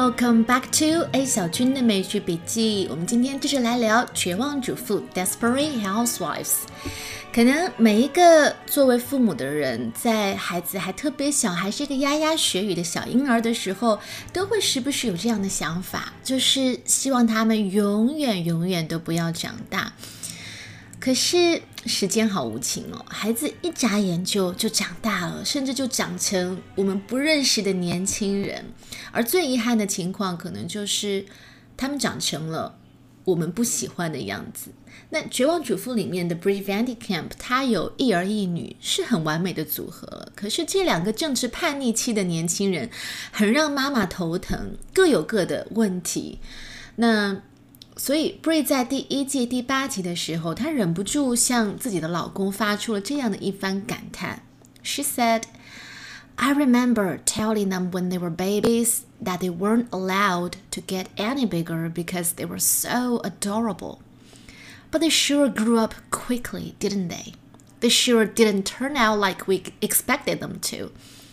Welcome back to A 小军的美剧笔记。我们今天继续来聊绝望主妇 Desperate Housewives。可能每一个作为父母的人，在孩子还特别小，还是一个牙牙学语的小婴儿的时候，都会时不时有这样的想法，就是希望他们永远都不要长大。可是时间好无情哦，孩子一眨眼就长大了，甚至就长成我们不认识的年轻人。而最遗憾的情况可能就是他们长成了我们不喜欢的样子。那绝望主妇里面的 Brie Van de Kamp， 她有一儿一女，是很完美的组合了。可是这两个正值叛逆期的年轻人很让妈妈头疼，各有各的问题。那所以 Brie 在第1季第8集的时候，她忍不住向自己的老公发出了这样的一番感叹。 She said, I remember telling them when they were babies that they weren't allowed to get any bigger because they were so adorable. But they sure grew up quickly, didn't they? They sure didn't turn out like we expected them to.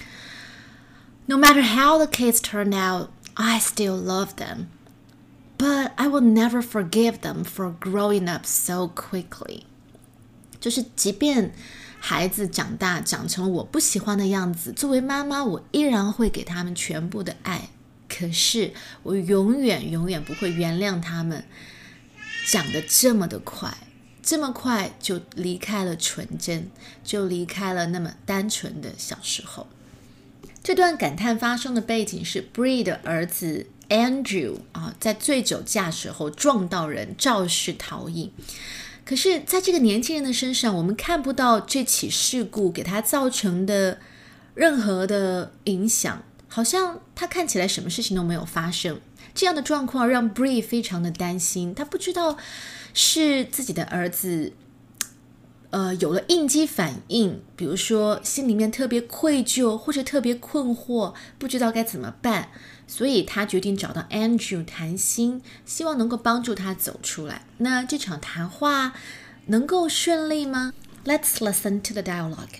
No matter how the kids turned out, I still love them.But I will never forgive them for growing up so quickly. 就是即便孩子长大长成了我不喜欢的样子，作为妈妈我依然会给他们全部的爱，可是我永远不会原谅他们长得这么的快，这么快就离开了纯真，就离开了那么单纯的小时候。这段感叹发生的背景是 Brie 的儿子Andrew 在醉酒驾驶后撞到人，肇事逃逸。可是在这个年轻人的身上，我们看不到这起事故给他造成的任何的影响，好像他看起来什么事情都没有发生。这样的状况让 Brie 非常的担心，他不知道是自己的儿子有了应激反应，比如说心里面特别愧疚或者特别困惑，不知道该怎么办，所以他决定找到 Andrew 谈心，希望能够帮助他走出来。那这场谈话能够顺利吗？ Let's listen to the dialogue.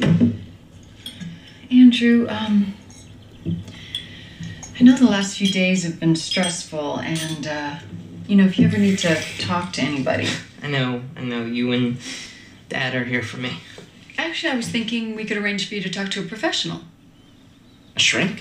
Andrew, I know the last few days have been stressful, and, if you ever need to talk to anybody. I know, you and Dad are here for me. Actually, I was thinking we could arrange for you to talk to a professional. A shrink?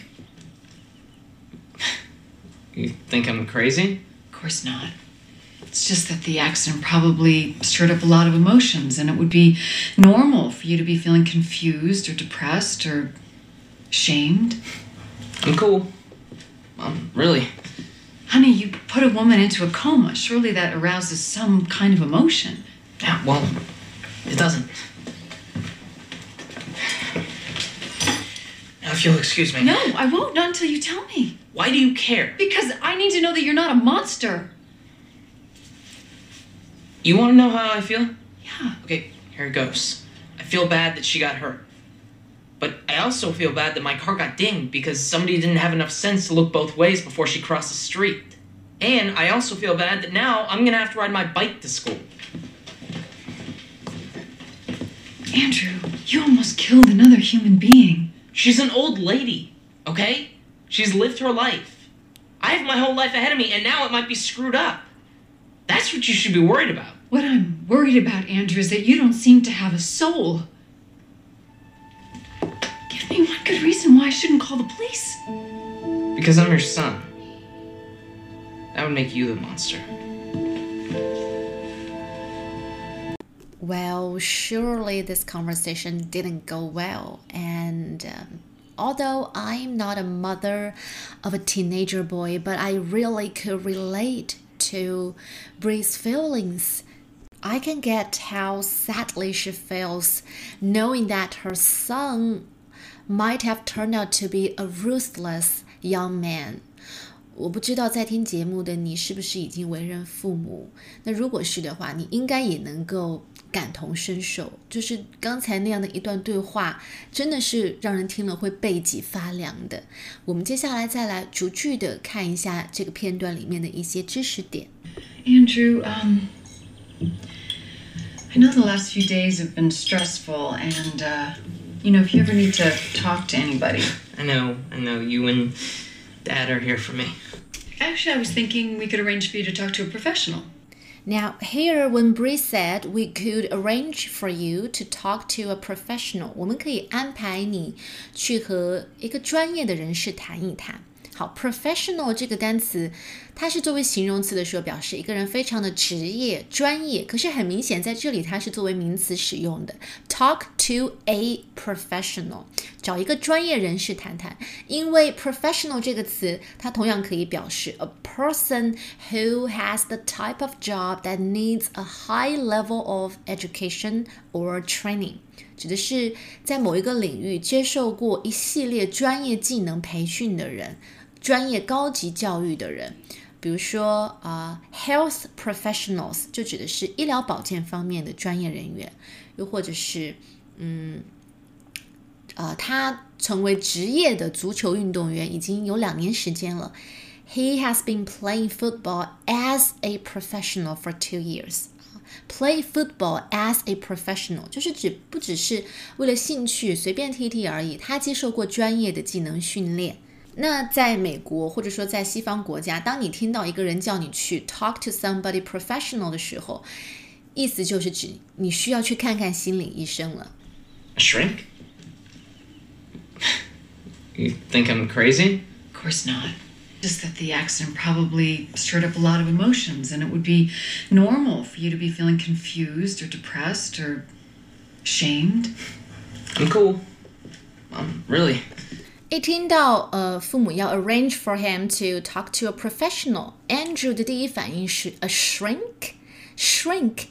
You think I'm crazy? Of course not. It's just that the accident probably stirred up a lot of emotions, and it would be normal for you to be feeling confused or depressed or shamed. I'm cool. Really. Honey, you put a woman into a coma. Surely that arouses some kind of emotion. Yeah, well, it doesn't. Now, if you'll excuse me. No, I won't. Not until you tell me. Why do you care? Because I need to know that you're not a monster. You want to know how I feel? Yeah. Okay, here it goes. I feel bad that she got hurt. But I also feel bad that my car got dinged because somebody didn't have enough sense to look both ways before she crossed the street. And I also feel bad that now I'm going to have to ride my bike to school. Andrew, you almost killed another human being. She's an old lady, okay? She's lived her life. I have my whole life ahead of me, and now it might be screwed up. That's what you should be worried about. What I'm worried about, Andrew, is that you don't seem to have a soul. Give me one good reason why I shouldn't call the police. Because I'm your son. That would make you the monster. Well, surely this conversation didn't go well, and although I'm not a mother of a teenager boy, but I really could relate to Brie's feelings. I can get how sadly she feels knowing that her son might have turned out to be a ruthless young man. 我不知道在听节目的你是不是已经为人父母，那如果是的话，你应该也能够感同身受，就是刚才那样的一段对话真的是让人听了会背脊发凉的。我们接下来再来逐句的看一下这个片段里面的一些知识点。 Andrew, I know the last few days have been stressful, and, if you ever need to talk to anybody. I know, you and Dad are here for me. Actually, I was thinking we could arrange for you to talk to a professional. Now, here when Bree said we could arrange for you to talk to a professional, 我们可以安排你去和一个专业的人士谈一谈。好 ，professional 这个单词，它是作为形容词的时候，表示一个人非常的职业、专业。可是很明显，在这里它是作为名词使用的。Talk to a professional， 找一个专业人士谈谈。因为 professional 这个词，它同样可以表示 a person who has the type of job that needs a high level of education or training。指的是在某一个领域接受过一系列专业技能培训的人，专业高级教育的人。比如说health professionals 就指的是医疗保健方面的专业人员，又或者是他成为职业的足球运动员已经有2年时间了。He has been playing football as a professional for 2 years.Play football as a professional 就是不只是为了兴趣随便踢踢而已，他接受过专业的技能训练。那在美国或者说在西方国家，当你听到一个人叫你去 talk to somebody professional 的时候，意思就是指你需要去看看心理医生了。 A shrink? You think I'm crazy? Of course not. Just that the accident probably stirred up a lot of emotions, and it would be normal for you to be feeling confused or depressed or shamed. I'm cool. Really. 一听到父母要 arrange for him to talk to a professional, Andrew 的第一反应是 a shrink. Shrink,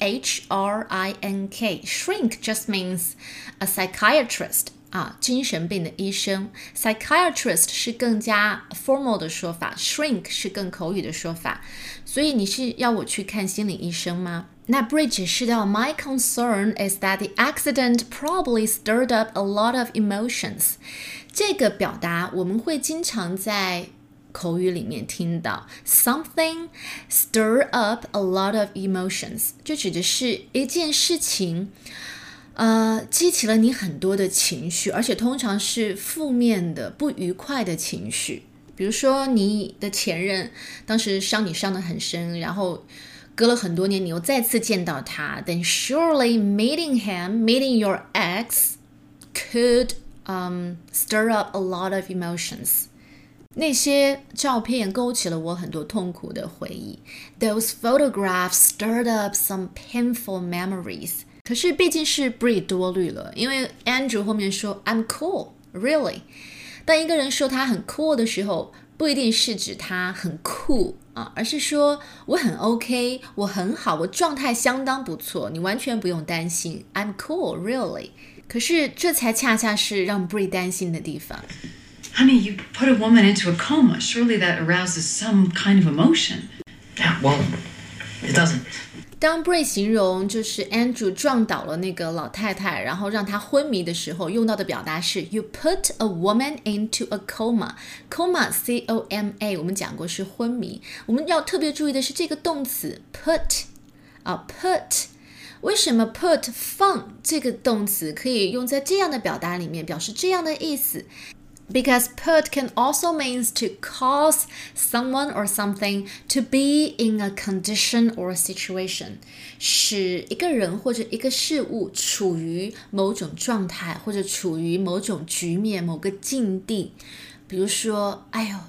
S-H-R-I-N-K. Shrink just means a psychiatrist.精神病的医生 Psychiatrist 是更加 formal 的说法， Shrink 是更口语的说法。所以你是要我去看心理医生吗？那 Bridge 解释到 My concern is that the accident probably stirred up a lot of emotions。 这个表达我们会经常在口语里面听到 Something stir up a lot of emotions， 就指的是一件事情激起了你很多的情绪，而且通常是负面的、不愉快的情绪。比如说你的前任当时伤你伤得很深，然后隔了很多年你又再次见到他， then surely meeting your ex could stir up a lot of emotions。 那些照片勾起了我很多痛苦的回忆。 Those photographs stirred up some painful memories。可是毕竟是 Bree 多虑了，因为 Andrew 后面说 I'm cool, really。 当一个人说他很 cool 的时候，不一定是指他很酷而是说我很 OK， 我很好，我状态相当不错，你完全不用担心 I'm cool, really。 可是这才恰恰是让 Bree 担心的地方。 Honey, you put a woman into a coma. Surely that arouses some kind of emotion. Yeah, well, it doesn't. 当 Bree 形容就是 Andrew 撞倒了那个老太太，然后让她昏迷的时候，用到的表达是 You put a woman into a coma. Coma, C-O-M-A， 我们讲过是昏迷。我们要特别注意的是这个动词 put put。 为什么 put 放这个动词可以用在这样的表达里面，表示这样的意思？Because put can also means to cause someone or something to be in a condition or a situation， 使一个人或者一个事物处于某种状态，或者处于某种局面、某个境地。比如说，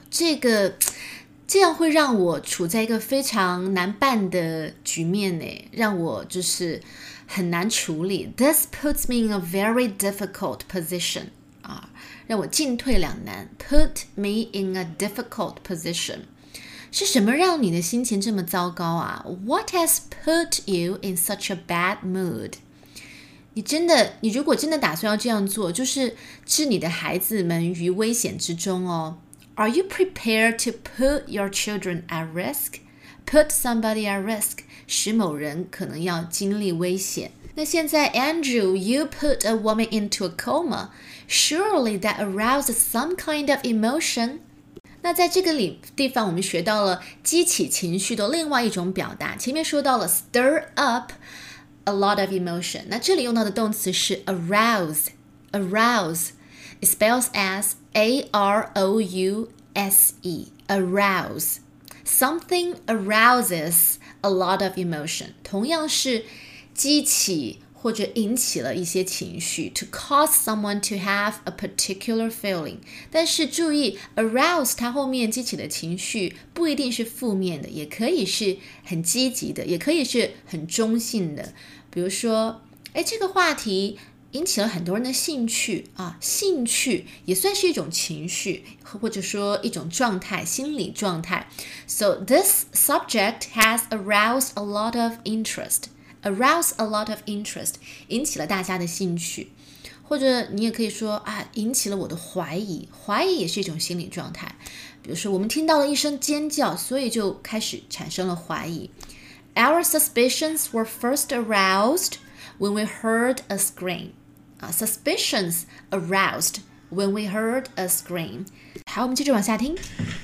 这样会让我处在一个非常难办的局面呢，让我就是很难处理。This puts me in a very difficult position。让我进退两难 Put me in a difficult position。 是什么让你的心情这么糟糕啊？ What has put you in such a bad mood？ 你如果真的打算要这样做，就是置你的孩子们于危险之中哦。 Are you prepared to put your children at risk? Put somebody at risk， 使某人可能要经历危险。那现在 Andrew, you put a woman into a coma. Surely that arouses some kind of emotion. 那在这个地方我们学到了激起情绪的另外一种表达。前面说到了 stir up a lot of emotion， 那这里用到的动词是 arouse. It spells as A-R-O-U-S-E. arouse. Something arouses a lot of emotion. 同样是激起或者引起了一些情绪 to cause someone to have a particular feeling. 但是注意 arouse 它后面激起的情绪不一定是负面的，也可以是很积极的，也可以是很中性的。比如说这个话题引起了很多人的兴趣啊，兴趣也算是一种情绪，或者说一种状态，心理状态。So this subject has aroused a lot of interest.Arouse a lot of interest， 引起了大家的兴趣，或者你也可以说引起了我的怀疑，怀疑也是一种心理状态。比如说我们听到了一声尖叫，所以就开始产生了怀疑。Our suspicions were first aroused when we heard a scream. Suspicions aroused when we heard a scream. 好，我们接着往下听。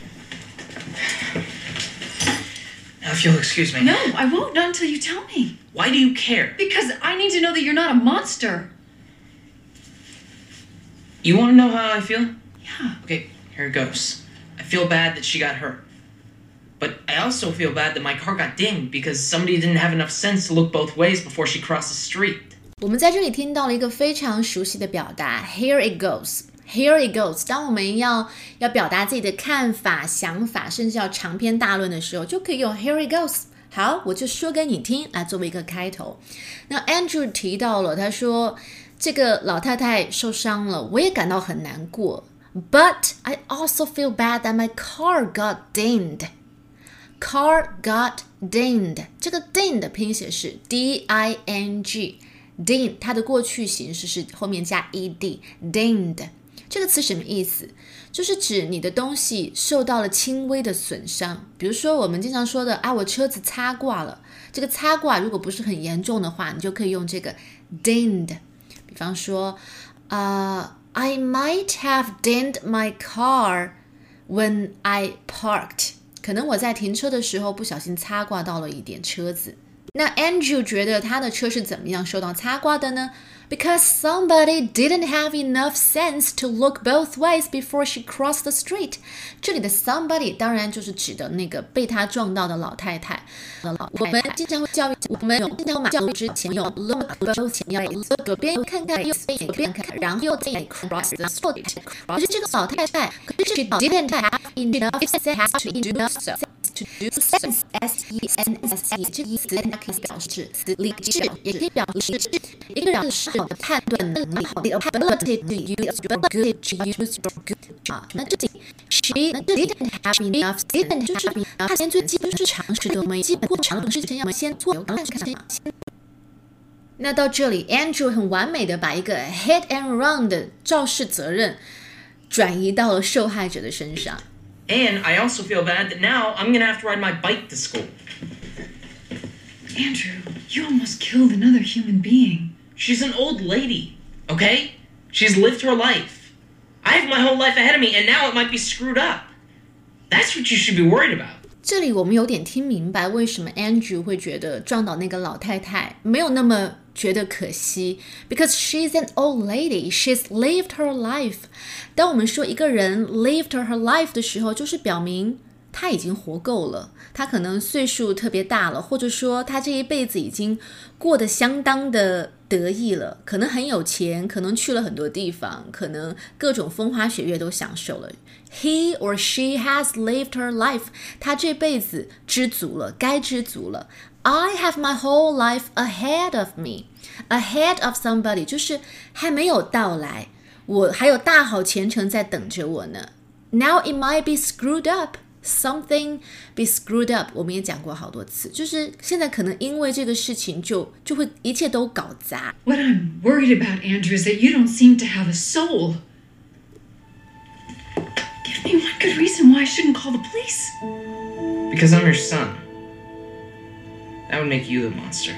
Now, if you'll excuse me. No, I won't, not until you tell me. Why do you care? Because I need to know that you're not a monster. You want to know how I feel? Yeah. Okay, here it goes. I feel bad that she got hurt. But I also feel bad that my car got dinged because somebody didn't have enough sense to look both ways before she crossed the street. 我们在这里听到了一个非常熟悉的表达 Here it goes.Here it goes. 当我们要表达自己的看法、想法，甚至要长篇大论的时候，就可以用 Here it goes. 好，我就说给你听，来作为一个开头。那 Andrew 提到了，他说这个老太太受伤了，我也感到很难过。But I also feel bad that my car got dinged. Car got dinged. 这个 ding 的拼写是 D-I-N-G。ding 它的过去形式是后面加 ed. dinged.这个词什么意思？就是指你的东西受到了轻微的损伤。比如说我们经常说的我车子擦挂了，这个擦挂如果不是很严重的话，你就可以用这个 dinged。比方说I might have dinged my car when I parked. 可能我在停车的时候不小心擦挂到了一点车子。那 Andrew 觉得他的车是怎么样受到擦挂的呢？Because somebody didn't have enough sense to look both ways before she crossed the street. 这里的 somebody 当然就是指的那个被他撞到的老太太。我们经常会教育我们经常马路之前用 look both 前要左边看看右边看看，然后再 cross the street。可是这个老太太，可是 she didn't have enough sense to do so.To do sense, S-E-N-S-E 这个词它可以表示理智，也可以表示一个人是好的判断能力 the ability to use your good to use your good 那这里 she didn't have enough sense 就是他连最基本就是常识都没有，基本过常识之前要先做。那到这里 Andrew 很完美的把一个 hit and run 的肇事责任转移到了受害者的身上。 And I also feel bad that now I'm going to have to ride my bike to school. Andrew, you almost killed another human being. She's an old lady, okay? She's lived her life. I have my whole life ahead of me, and now it might be screwed up. That's what you should be worried about. 这里我们有点听明白为什么 Andrew 会觉得撞倒那个老太太没有那么觉得可惜 because she's an old lady, she's lived her life. 当我们说一个人 lived her life 的时候，就是表明他已经活够了，他可能岁数特别大了，或者说他这一辈子已经过得相当的得意了，可能很有钱，可能去了很多地方，可能各种风花雪月都享受了。He or she has lived her life. 他这辈子知足了，该知足了。I have my whole life ahead of me. Ahead of somebody 就是还没有到来，我还有大好前程在等着我呢。Now it might be screwed up. Something be screwed up. 我们也讲过好多次，就是现在可能因为这个事情就会一切都搞砸。 What I'm worried about, Andrew, is that you don't seem to have a soul. Give me one good reason why I shouldn't call the police. Because I'm your son. That would make you the monster.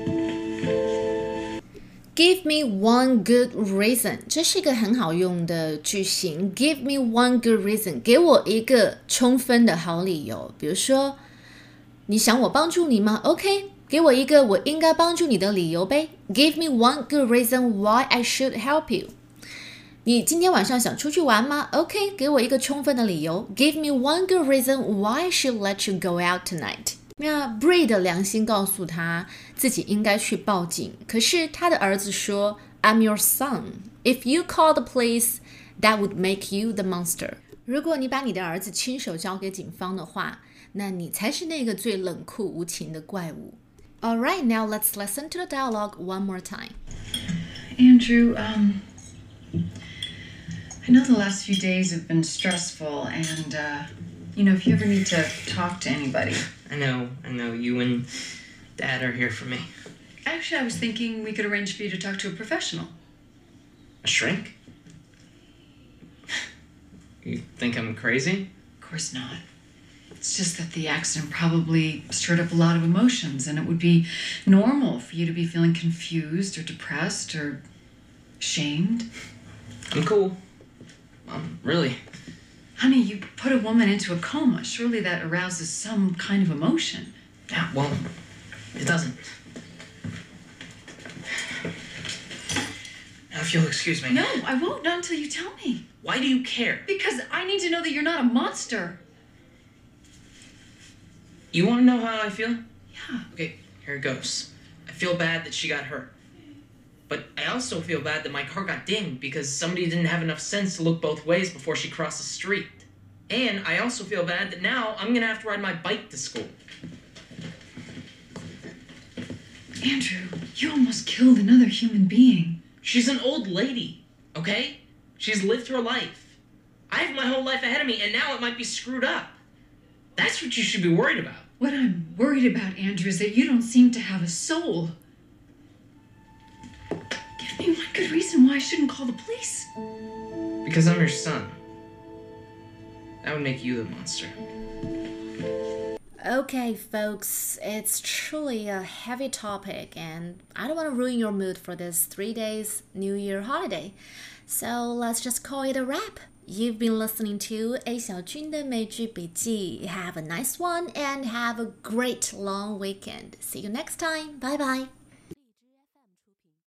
Give me one good reason. 这是一个很好用的句型。Give me one good reason. 给我一个充分的好理由。比如说，你想我帮助你吗 ？OK， 给我一个我应该帮助你的理由呗。Give me one good reason why I should help you. 你今天晚上想出去玩吗 ？OK， 给我一个充分的理由。Give me one good reason why I should let you go out tonight。那 Bree 的良心告诉他自己应该去报警，可是他的儿子说 I'm your son. If you call the police, that would make you the monster. 如果你把你的儿子亲手交给警方的话，那你才是那个最冷酷无情的怪物。Alright, now let's listen to the dialogue one more time. Andrew, I know the last few days have been stressful, and, if you ever need to talk to anybody. I know. You and Dad are here for me. Actually, I was thinking we could arrange for you to talk to a professional. A shrink? You think I'm crazy? Of course not. It's just that the accident probably stirred up a lot of emotions, and it would be normal for you to be feeling confused or depressed or shamed. I'm cool. Really. Honey, you put a woman into a coma. Surely that arouses some kind of emotion. Yeah, well, it doesn't. Now, if you'll excuse me. No, I won't. Not until you tell me. Why do you care? Because I need to know that you're not a monster. You want to know how I feel? Yeah. Okay, here it goes. I feel bad that she got hurt. But I also feel bad that my car got dinged because somebody didn't have enough sense to look both ways before she crossed the street. And I also feel bad that now I'm gonna have to ride my bike to school. Andrew, you almost killed another human being. She's an old lady, okay? She's lived her life. I have my whole life ahead of me, and now it might be screwed up. That's what you should be worried about. What I'm worried about, Andrew, is that you don't seem to have a soul. Give me one good reason why I shouldn't call the police. Because I'm your son. That would make you the monster. Okay, folks, it's truly a heavy topic, and I don't want to ruin your mood for this 3 days New Year holiday. So let's just call it a wrap. You've been listening to A 小军的美剧笔记. Have a nice one and have a great long weekend. See you next time. Bye bye.